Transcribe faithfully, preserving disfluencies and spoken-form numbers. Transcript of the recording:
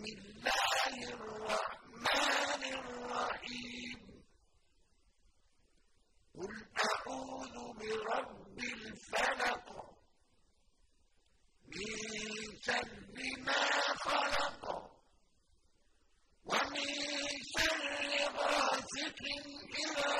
الله الرحمن الرحيم قل أعوذ برب الفلق من شر ما خلق ومن شر غاسق إذا